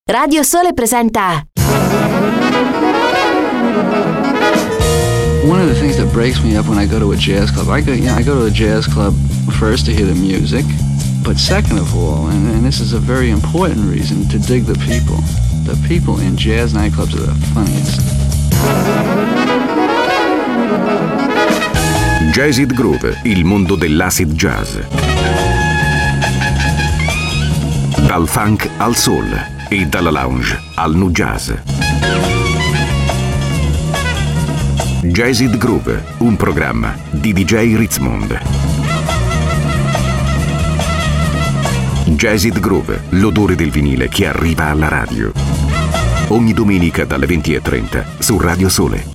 Radio Sole presenta. One of the things that breaks me up when I go to a jazz club, I go to a jazz club first to hear the music, but second of all, and this is a very important reason, to dig the people. The people in jazz nightclubs are the funniest. Jazzid Groove, il mondo dell'acid jazz. Dal funk al soul e dalla lounge al nu jazz. Jazzid Groove, un programma di DJ Ritzmond. Jazzid Groove, l'odore del vinile che arriva alla radio. Ogni domenica dalle 20:30 su Radio Sole.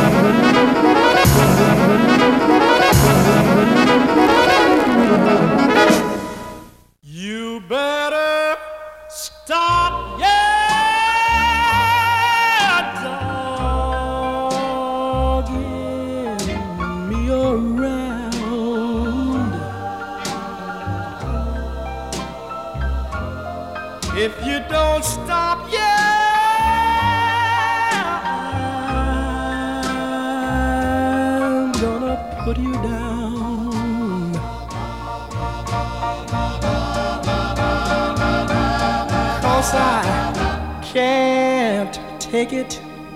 If you don't stop, I'm gonna put you down. 'Cause I can't take it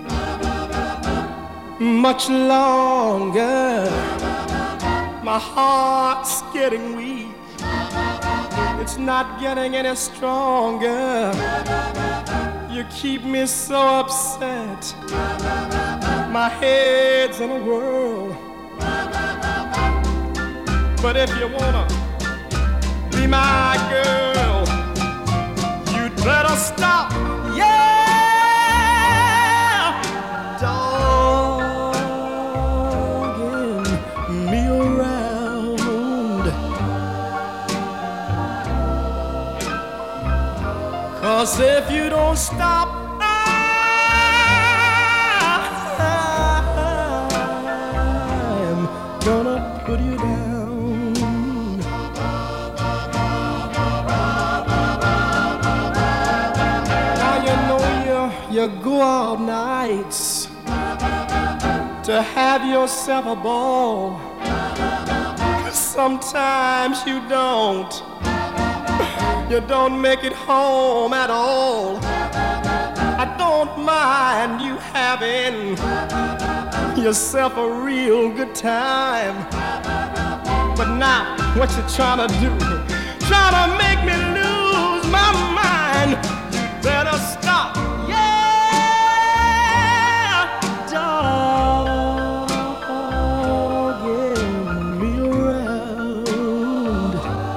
much longer. My heart's getting weak. It's not getting any stronger. You keep me so upset. My head's in a whirl. But if you wanna be my girl, you'd better stop. Yeah, dogging me around. 'Cause if you don't stop, I'm gonna put you down. Now you know you go out nights to have yourself a ball. Sometimes you don't. You don't make it home at all. I don't mind you having yourself a real good time. But now, what you trying to do? Trying to make me lose my mind. You better stop. Yeah, dogging me around.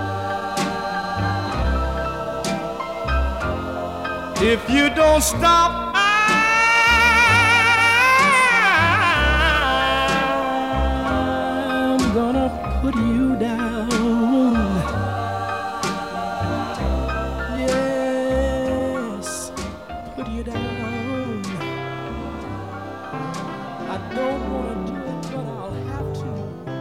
If you don't stop, I'm gonna put you down. Yes, put you down. I don't wanna do it, but I'll have to.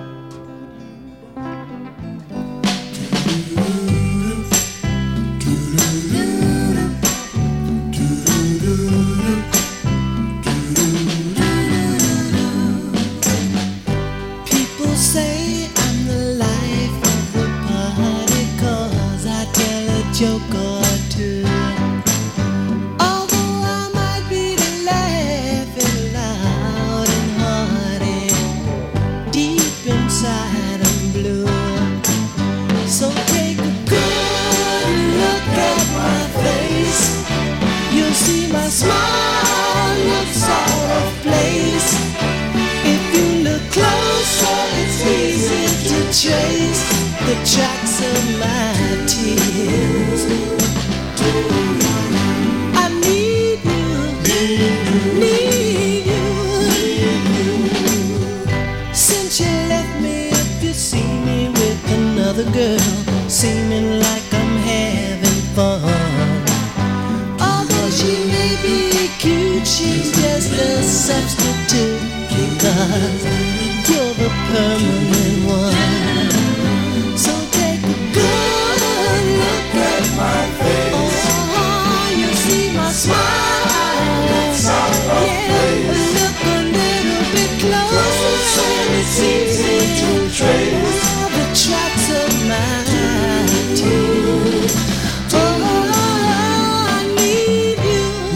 People say I'm the life of the party 'cause I tell a joke or two. Although I might be laughing loud and hearty, deep inside I'm blue. So take a good look at my face. You'll see my smile looks out of place. If you look closer, it's easy to trace the tracks of my tears. I need you, need you. Since you left me, if you see me with another girl, seeming like I'm having fun. Although she may be cute, she's just a substitute. Because you're the permanent one. So take a good look at my face. Oh, you see my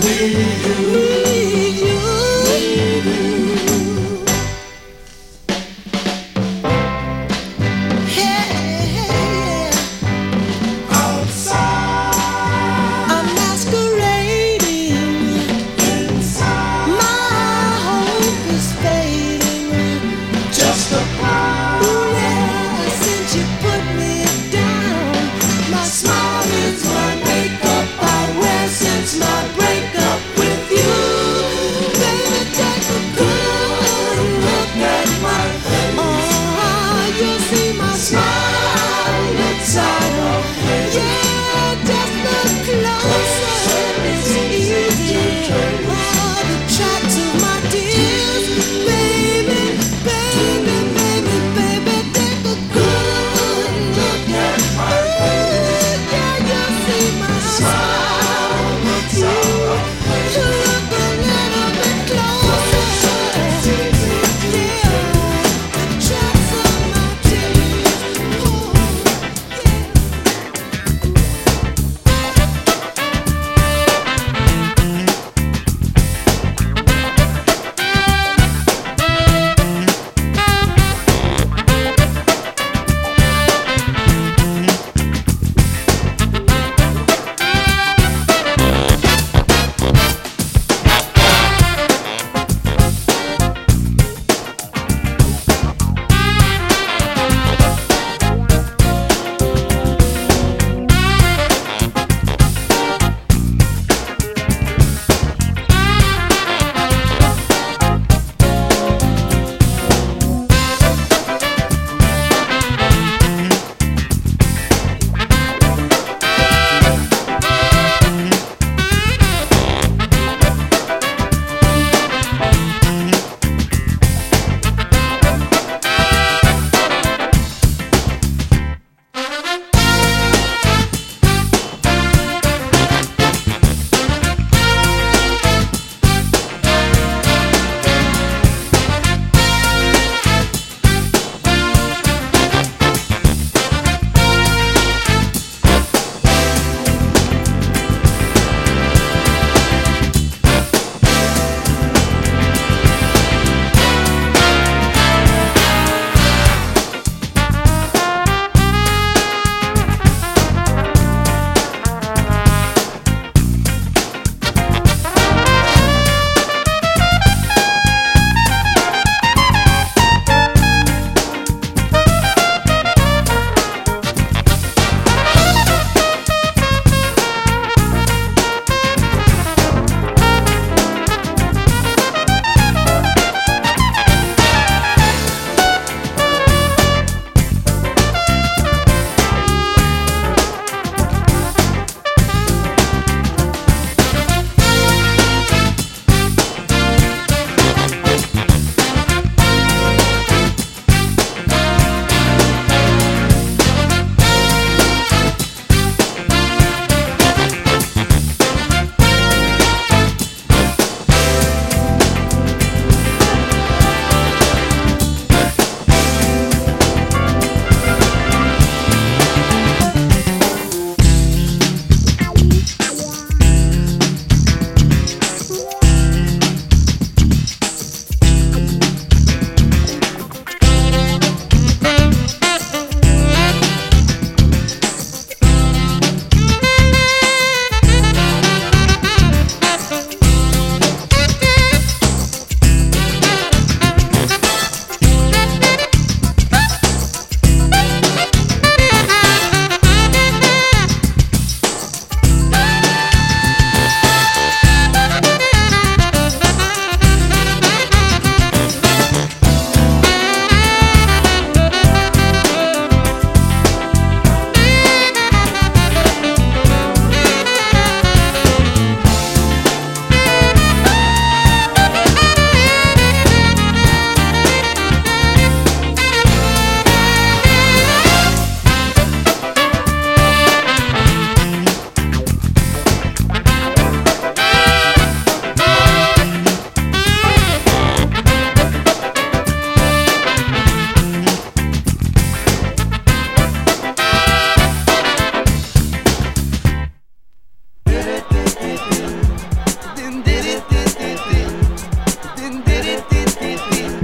My smile is my makeup I wear since my breakup with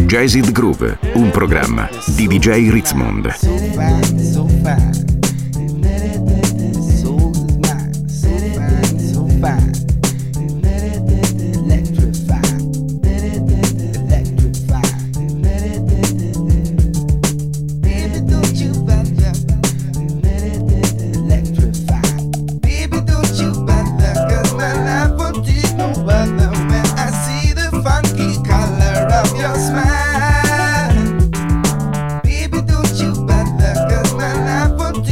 Jazzed Groove, un programma di DJ Ritzmond. Smile, baby, don't you bother, 'cause my life will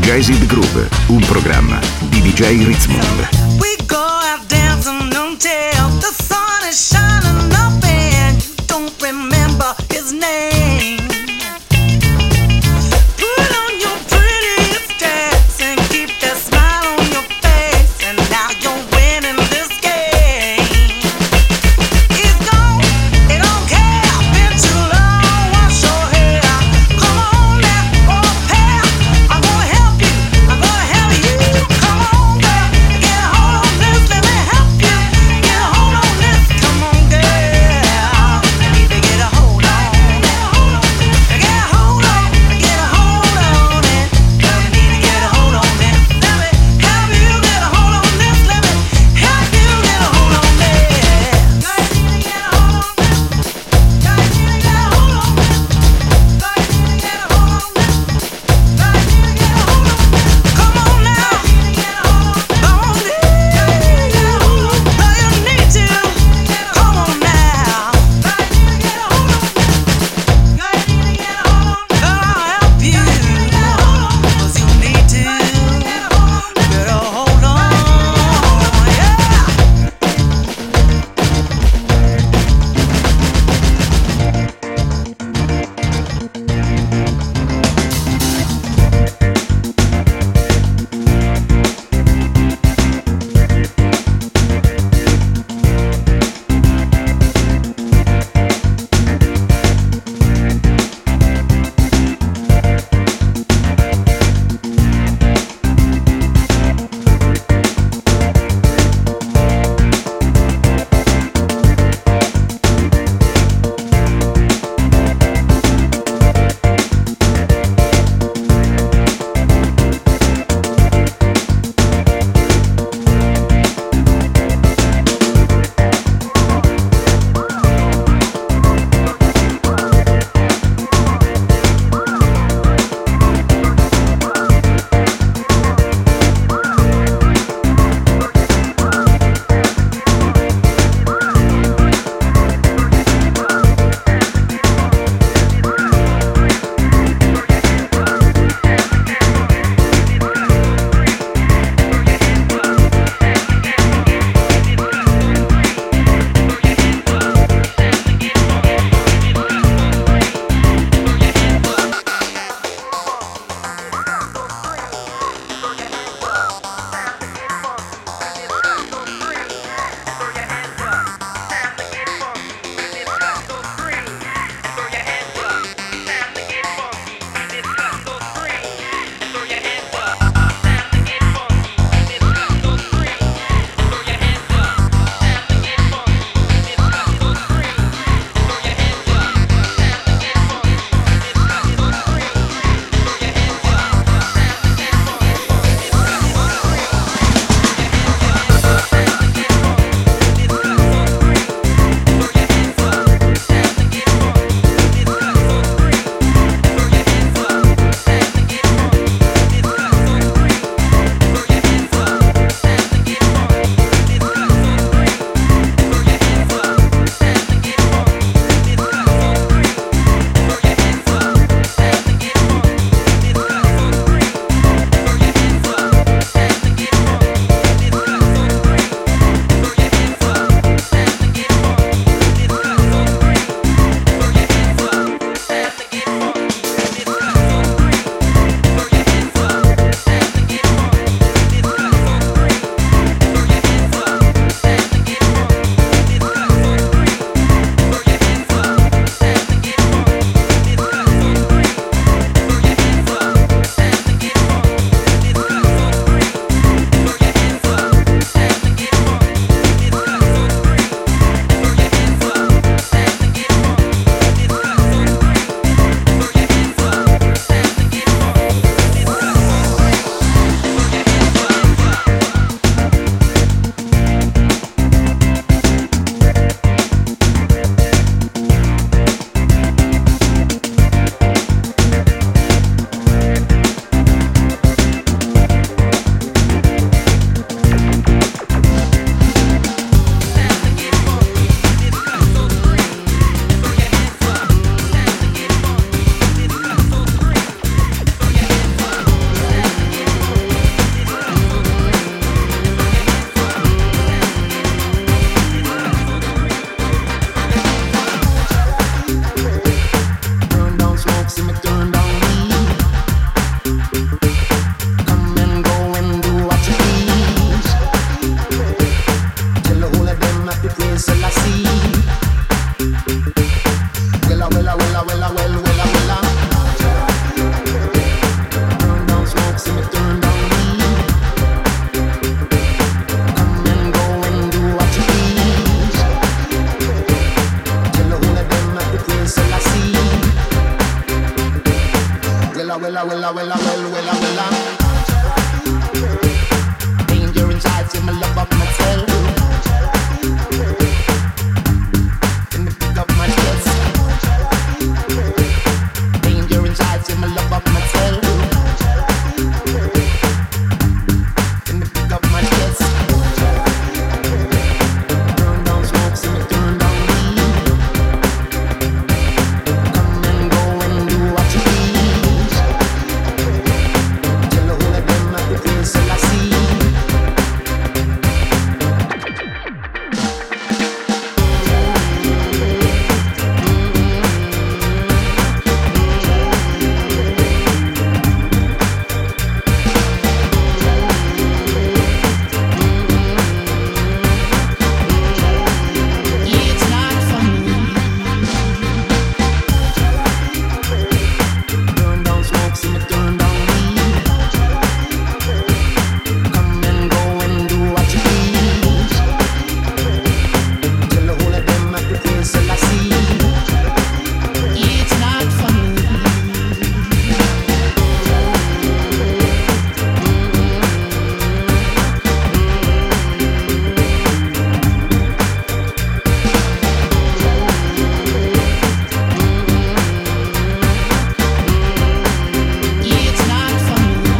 Jazzed Groove, un programma di DJ Ritzmond. We go out dancing until the sun is shining up and you don't remember his name. Put on your prettiest dress and keep that smile on your face, and now you're winning this game. It's gone, it don't care, been too long, wash your hair. Come on now, oh pair, I'm gonna help you, I'm gonna help you. Come on girl, get hold Danger inside, see my love of myself. In the pick of my chest. Danger inside, see my love of myself. In the pick of my chest. Turn down smoke, see me turn down weed. Come and go and do what you please. Tell the whole of them at the place that I see. It's not for me. Turn down smoke, see me turn down weed. Come and go and do what you please. Tell the whole of them at the place that I see. It's not for me. It's not for me.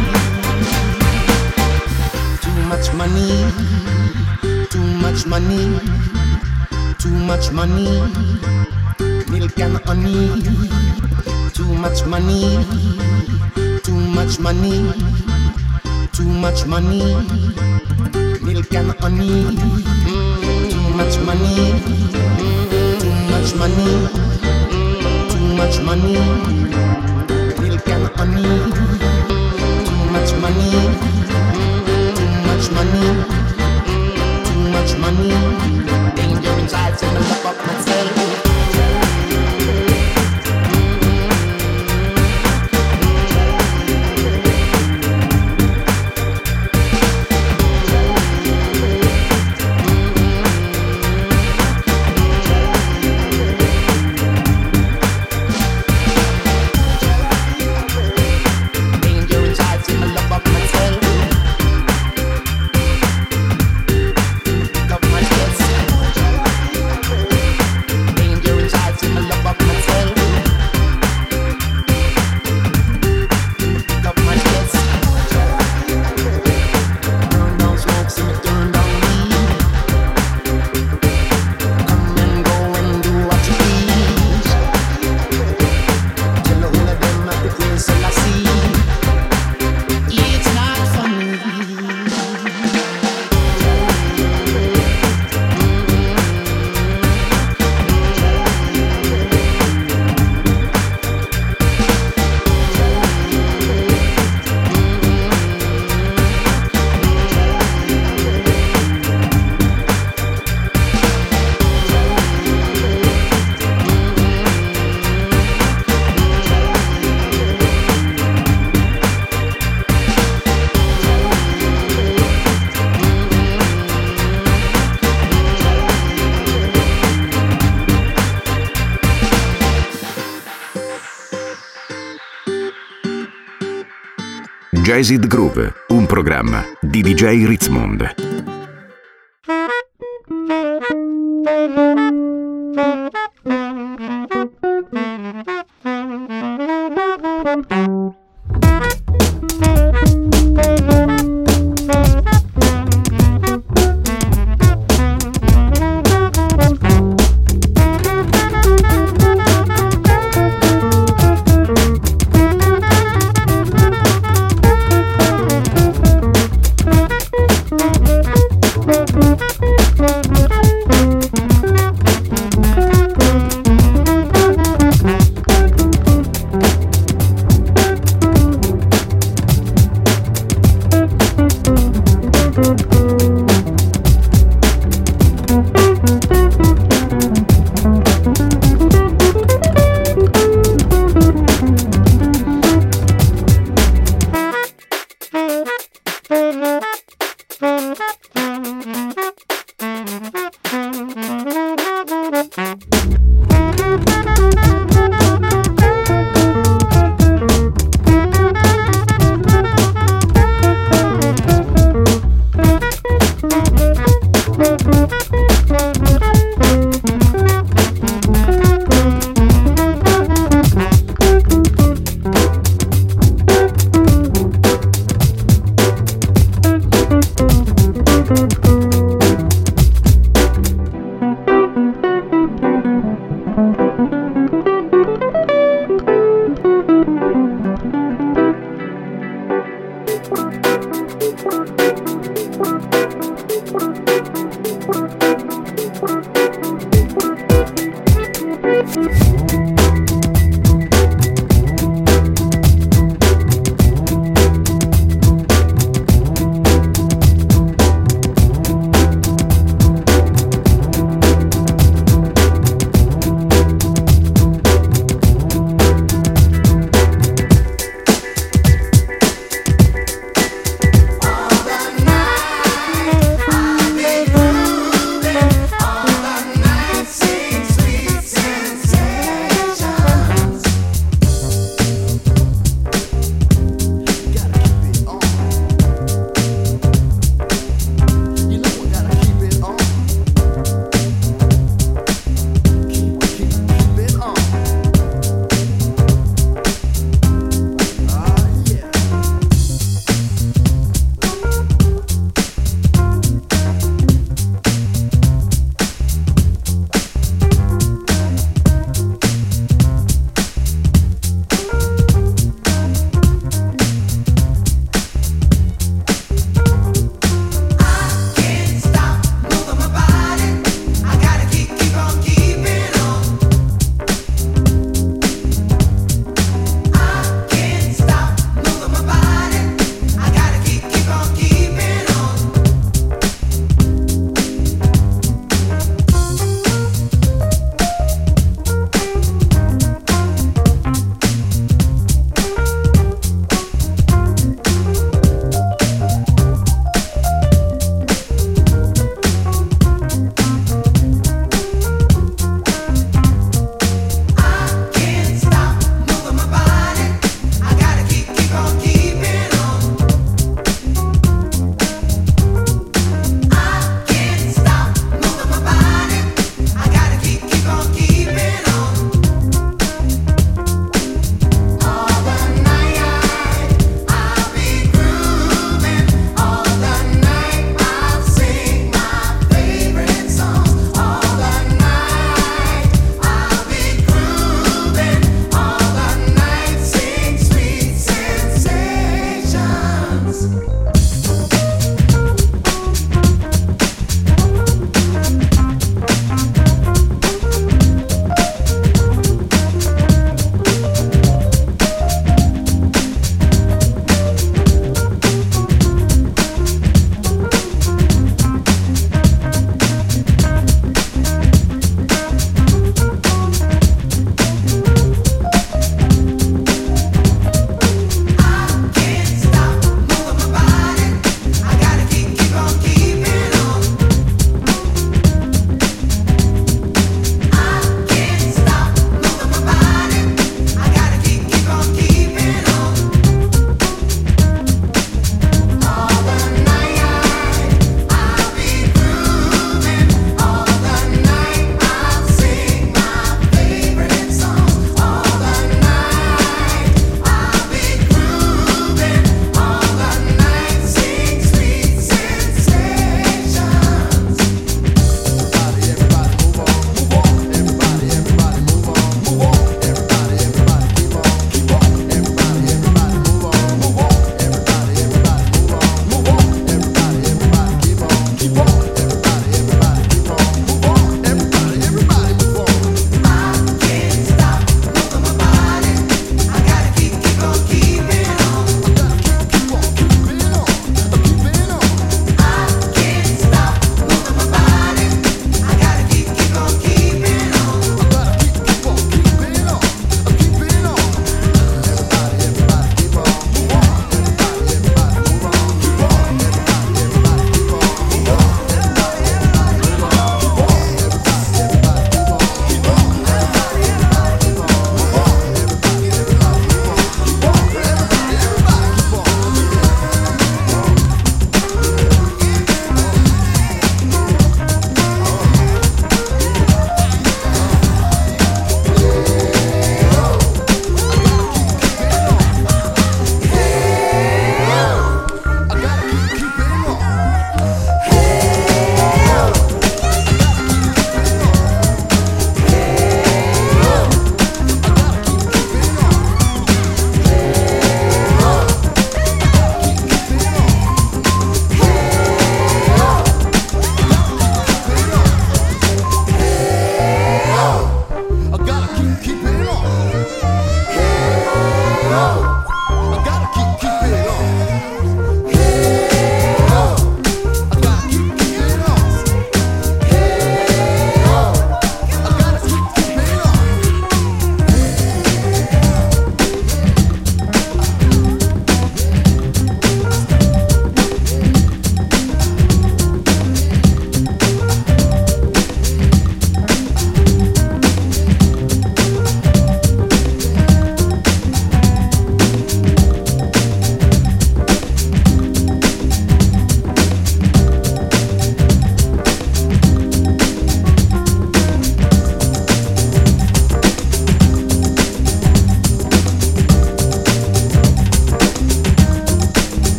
Too much money, too much money, too much money, milk and honey. Too much money, too much money, too much money, milk and honey. Too much money, too much money, too much money, milk and honey. Too much money, too much money, too much money. Danger inside, say me love up myself. Danger inside, see me love up myself. Pick up my chest. Danger inside, see me love up myself. Pick up my chest. Turn down smoke, see me turn down weed. Come and go and do what you please. Tell the whole of them at the place that I see. It's not for me. Jazzed Groove, un programma di DJ Ritzmond.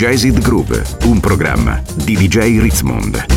Jazzed Groove, un programma di DJ Ritzmond.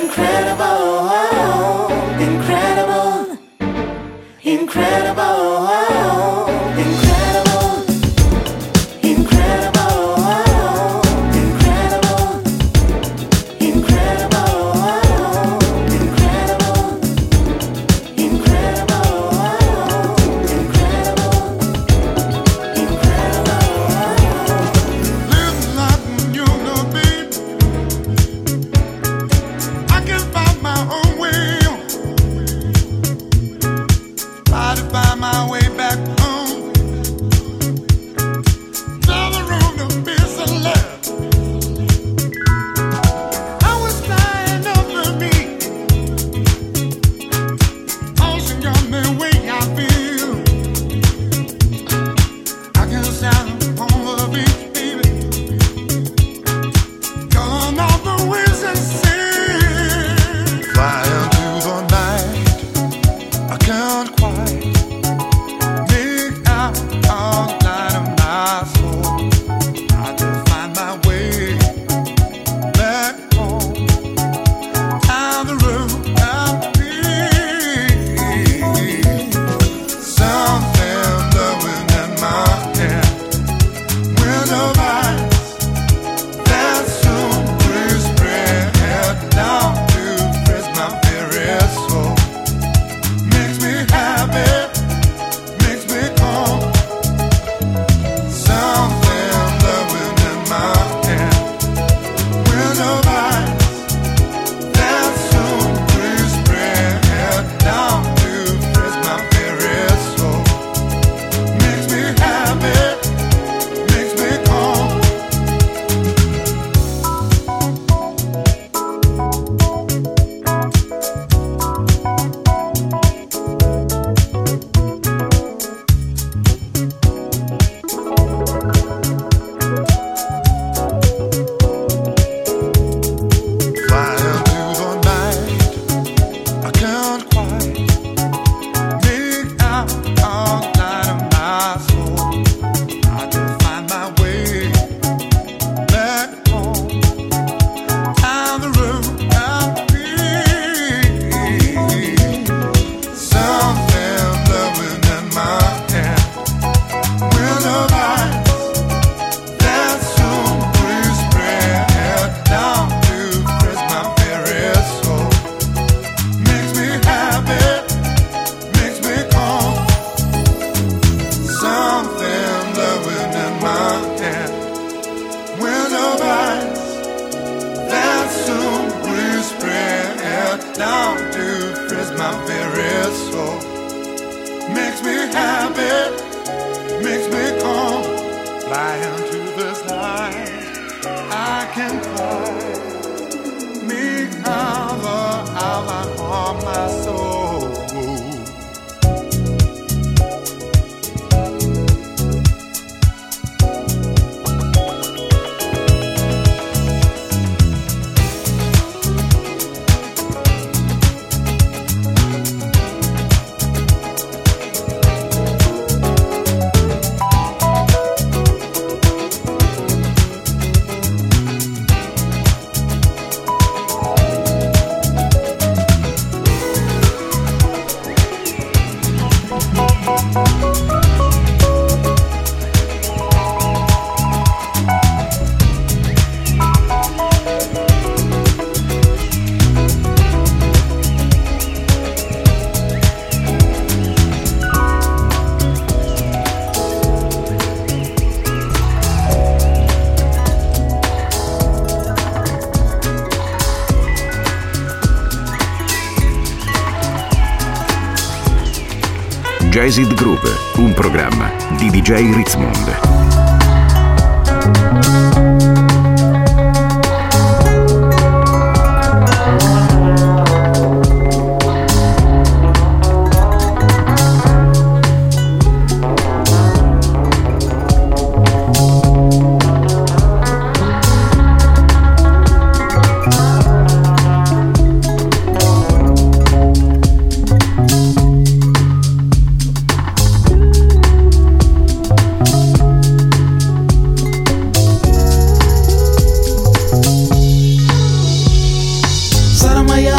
Jazzed Groove, un programma di DJ Ritzmond.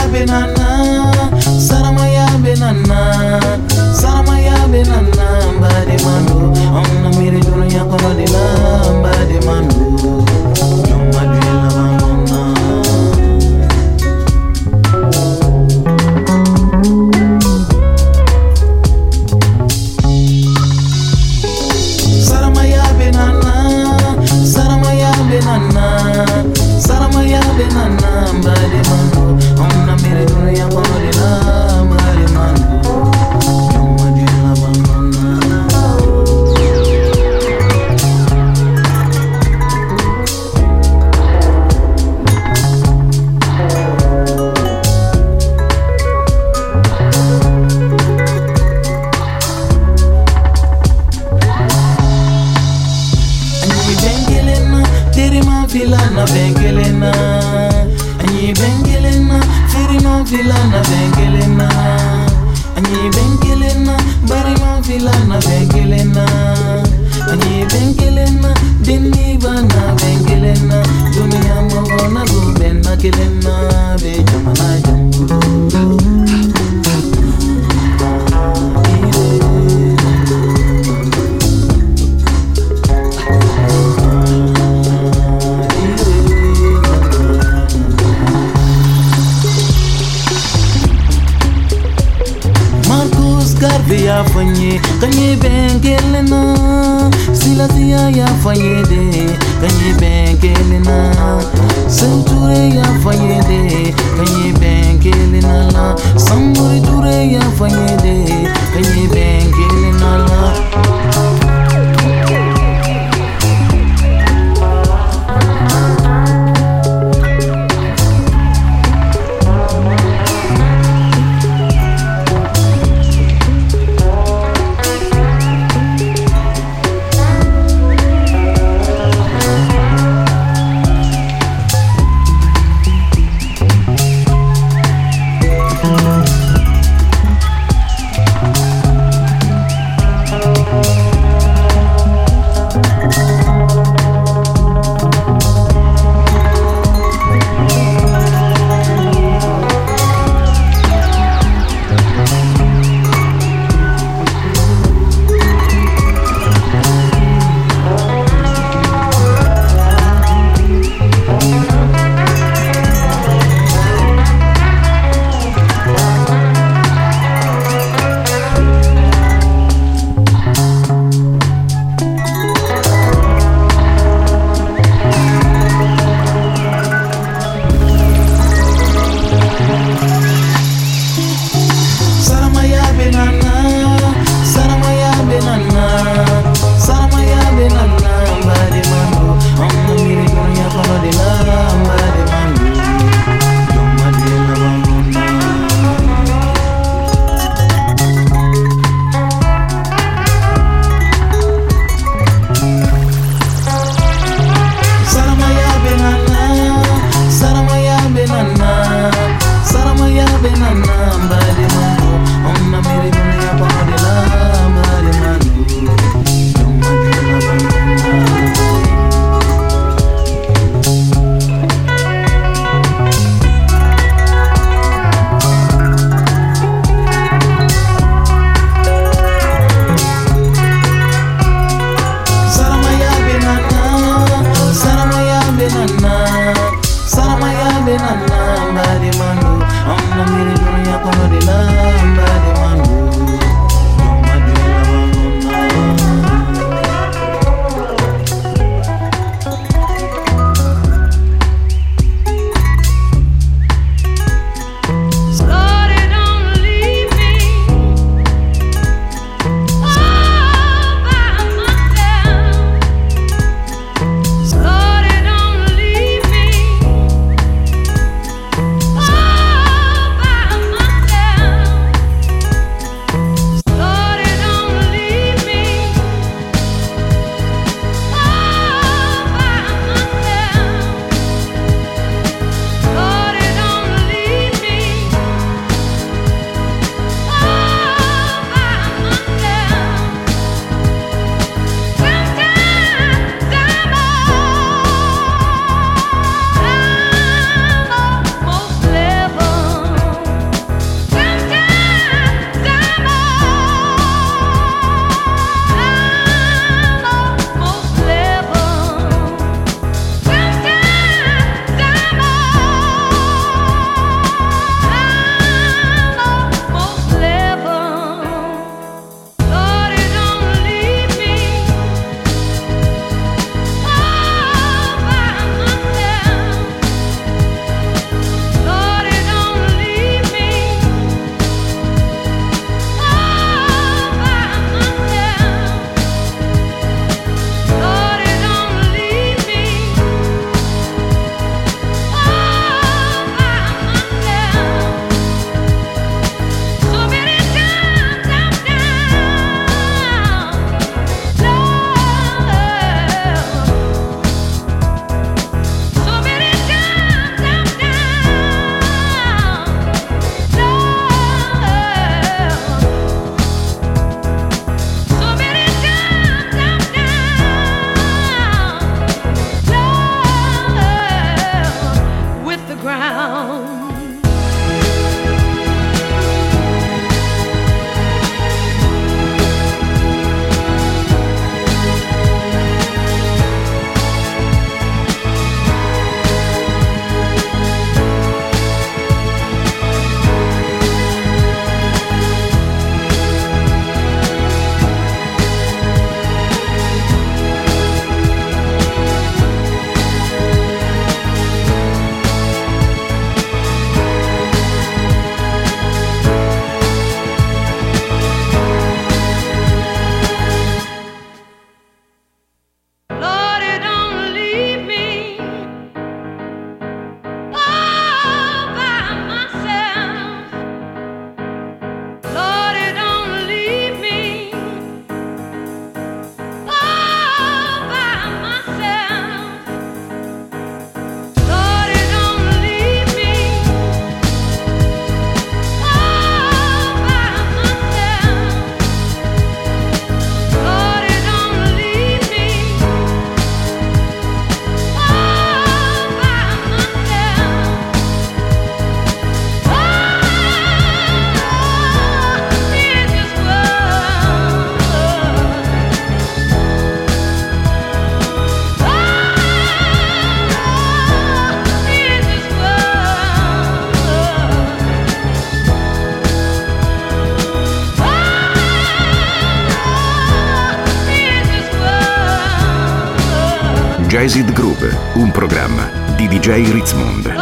benana, saramaya benana, saramaya benana, mbade mando, amna miri dunya kono dina, mbade mando, nyoma dwela bamona. Saramaya benana, saramaya benana, saramaya benana, mbade mando, amna miri dunya kono dina, mbade mando, nyoma dwela bamona. Filana bengelena, anyi bengelena, firima filana bengelena, anyi bengelena, barima filana bengelena, anyi bengelena, deni bana bengelena, dunia mogona gubena kelena, be jamana jambu. Ya fanye kanye bengelena silasia ya fanye de kanye bengelena senture ya fanye de kanye bengelena la samuri ture ya fanye de kanye bengelena la. Jazzed Groove, un programma di DJ Ritzmond.